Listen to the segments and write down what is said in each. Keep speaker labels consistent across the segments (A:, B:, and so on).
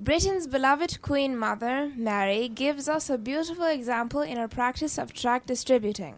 A: Britain's beloved Queen Mother, Mary, gives us a beautiful example in her practice of tract distributing.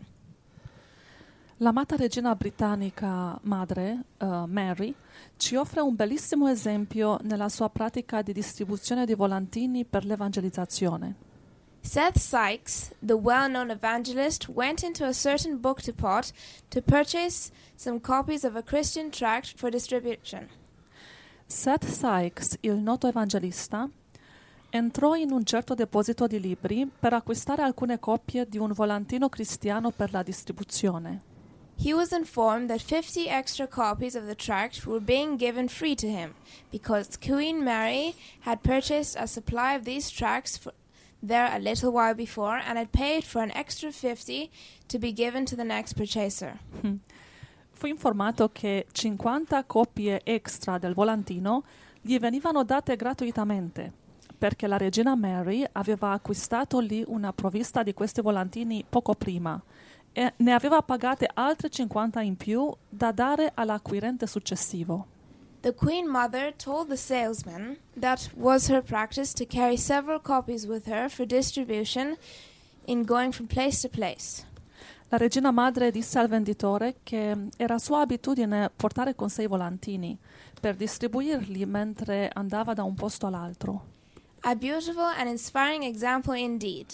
B: L'amata regina britannica madre, Mary, ci offre un bellissimo esempio nella sua pratica di distribuzione di volantini per l'evangelizzazione.
A: Seth Sykes, the well-known evangelist, went into a certain book depot to purchase some copies of a Christian tract for distribution.
B: Seth Sykes, il noto evangelista, entrò in un certo deposito di libri per acquistare alcune copie di un volantino cristiano per la distribuzione.
A: He was informed that 50 extra copies of the tract were being given free to him, because Queen Mary had purchased a supply of these tracts there a little while before and had paid for an extra 50 to be given to the next purchaser.
B: Fu informato che 50 copie extra del volantino gli venivano date gratuitamente, perché la regina Mary aveva acquistato lì una provvista di questi volantini poco prima e ne aveva pagate altre 50 in più da dare all'acquirente successivo.
A: The Queen Mother told the salesman that was her practice to carry several copies with her for distribution in going from place to place.
B: La regina madre disse al venditore che era sua abitudine portare con sé i volantini per distribuirli mentre andava da un posto all'altro.
A: A beautiful and inspiring example indeed,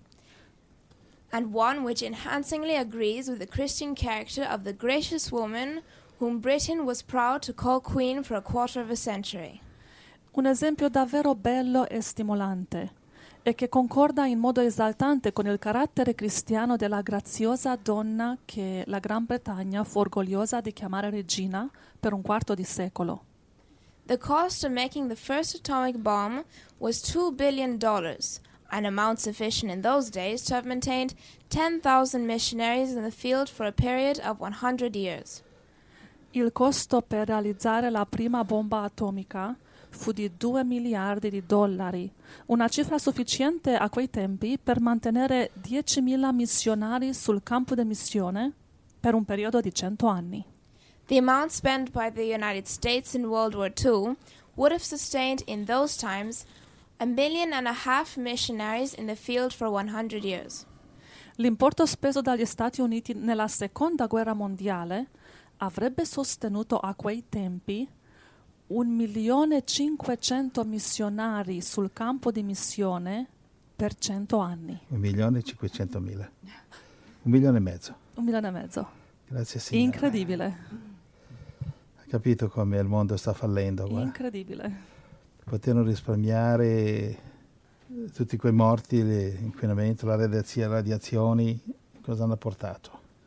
A: and one which enhancingly agrees with the Christian character of the gracious woman whom Britain was proud to call queen for a quarter of a century.
B: Un esempio davvero bello e stimolante, e che concorda in modo esaltante con il carattere cristiano della graziosa donna che la Gran Bretagna fu orgogliosa di chiamare regina per un quarto di secolo.
A: The cost of making the first atomic bomb was $2 billion, an amount sufficient in those days to have maintained 10,000 missionaries in the field for a period of 100 years.
B: Il costo per realizzare la prima bomba atomica fu di $2 miliardi, una cifra sufficiente a quei tempi per mantenere 10.000 missionari sul campo di missione per un periodo di 100 anni.
A: The amount spent by the United States in World War II would have sustained in those times 1.5 million missionaries in the field for 100 years.
B: L'importo speso dagli Stati Uniti nella Seconda Guerra Mondiale avrebbe sostenuto a quei tempi 1.500.000 missionari sul campo di missione per 100 anni.
C: 1.500.000. 1,5 milioni.
B: 1,5 milioni.
C: Grazie Signore.
B: Incredibile.
C: Hai capito come il mondo sta fallendo? Guarda.
B: Incredibile.
C: Potevano risparmiare tutti quei morti, l'inquinamento, le radiazioni, cosa hanno portato?